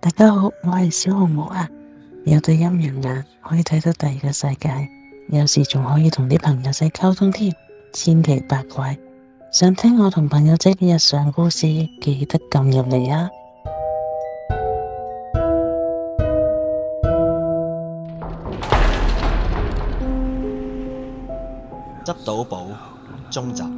大家好，我係小紅帽啊，有對陰陽眼可以睇到第二個世界，有時仲可以同啲朋友仔溝通添，千奇百怪。想聽我同朋友仔嘅日常故事，記得撳入嚟啊！ 執到寶中集。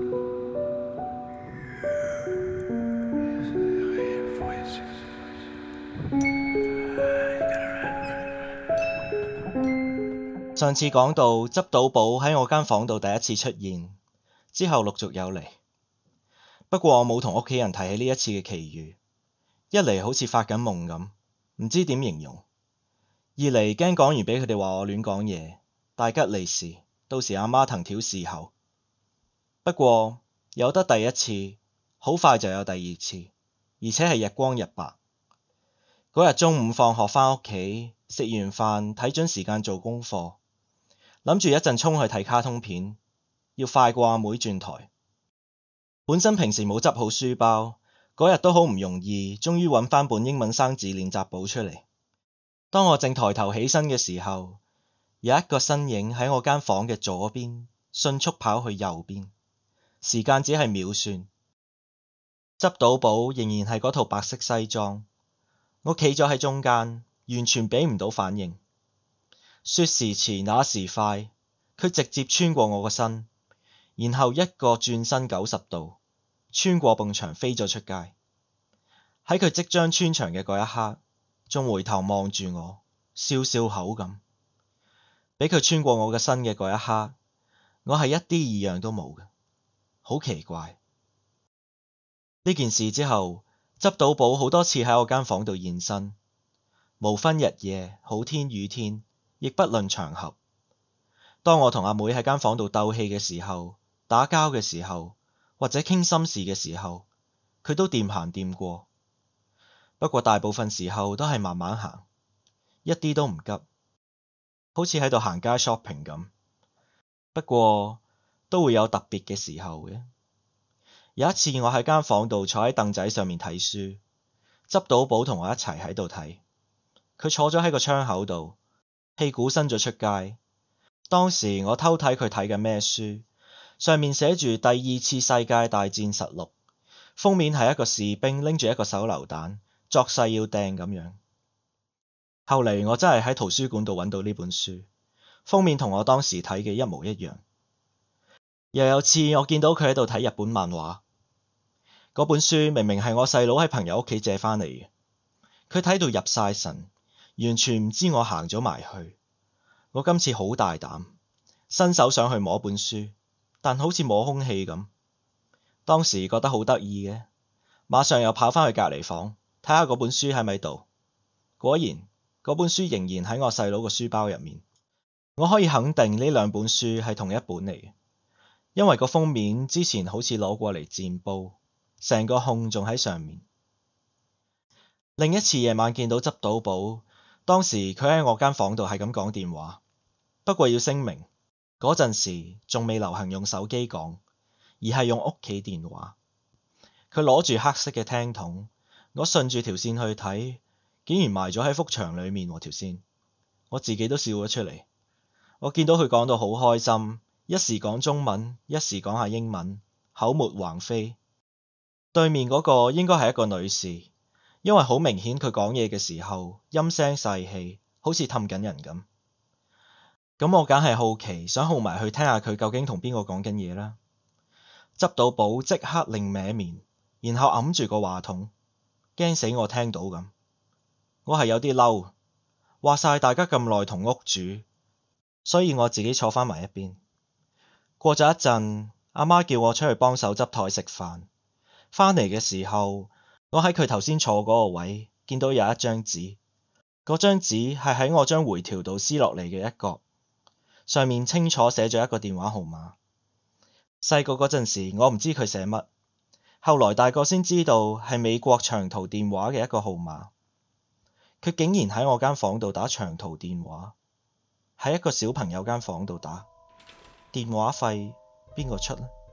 上次講到執到寶喺我間房度第一次出現，之後陸續有嚟。不過我冇同屋企人提起呢一次嘅奇遇，一嚟好似發緊夢咁，唔知點形容；二嚟驚講完俾佢哋話我亂講嘢，大吉利是，到時阿媽藤條侍候。不過有得第一次，好快就有第二次，而且係日光日白。嗰日中午放學返屋企，食完飯睇準時間做功課，諗住一陣衝去睇卡通片，要快過阿妹轉台。本身平時冇執好書包，嗰日都好唔容易，終於揾返本英文生字練習簿出嚟。當我正抬頭起身嘅時候，有一個身影喺我間房嘅左邊，迅速跑去右邊，時間只係秒算。執到寶仍然係嗰套白色西裝，我企咗喺中間，完全俾唔到反應。說時遲那時快，佢直接穿過我個身，然後一個轉身90度，穿過埲牆飛咗出街。喺佢即將穿牆嘅嗰一刻，仲回頭望住我，笑笑口咁。俾佢穿過我嘅身嘅嗰一刻，我係一啲異樣都冇嘅，好奇怪。呢件事之後，執到寶好多次喺我間房度現身，無分日夜，好天雨天，亦不論場合。當我同阿妹喺間房度鬥氣嘅時候，打交嘅時候，或者傾心事嘅時候，佢都掂行掂過。不過大部分時候都係慢慢行，一啲都唔急，好似喺度行街 shopping 咁。不過都會有特別嘅時候嘅。有一次我喺間房度坐喺凳仔上面睇書，執到寶同我一齊喺度睇。佢坐咗喺個窗口度，屁股伸咗出街。當時我偷睇佢睇緊咩書，上面寫住第二次世界大戰實錄，封面係一個士兵拎住一個手榴彈，作勢要掟咁樣。後嚟我真係喺圖書館度揾到呢本書，封面同我當時睇嘅一模一樣。又有次我見到佢喺度睇日本漫畫，嗰本書明明係我細佬喺朋友屋企借返嚟嘅，佢睇到入晒神，完全唔知我行咗埋去。我今次好大膽，伸手想去摸本書，但好似摸空氣咁。當時覺得好得意嘅，馬上又跑返去隔離房睇下嗰本書喺咪度。果然嗰本書仍然喺我細佬個書包入面。我可以肯定呢兩本書係同一本嚟嘅，因為個封面之前好似攞過嚟墊煲，成個控仲喺上面。另一次夜晚見到執到寶，當時佢喺我間房度係咁講電話。不過要聲明，嗰陣時仲未流行用手機講，而係用屋企電話。佢攞住黑色嘅聽筒，我順住條線去睇，竟然埋咗喺幅牆裏面喎條線。我自己都笑咗出嚟。我見到佢講到好開心，一時講中文，一時講下英文，口沫橫飛。對面嗰個應該係一個女士，因為好明顯佢講嘢嘅時候陰聲細氣，好似氹緊人咁。咁我梗係好奇，想號埋去聽下佢究竟同邊個講緊嘢啦。執到寶即刻另歪面，然後揞住個話筒，驚死我聽到咁。我係有啲嬲，話晒大家咁耐同屋住，所以我自己坐返埋一邊。過咗一陣，阿媽叫我出去幫手執枱食飯。返嚟嘅時候，我喺佢頭先坐嗰個位見到有一張紙，嗰張紙係喺我張回條度撕落嚟嘅一角，上面清楚寫咗一個電話號碼。細個嗰陣時我唔知佢寫乜，後來大個先知道係美國長途電話嘅一個號碼。佢竟然喺我間房度打長途電話，喺一個小朋友間房度打，電話費邊個出呢？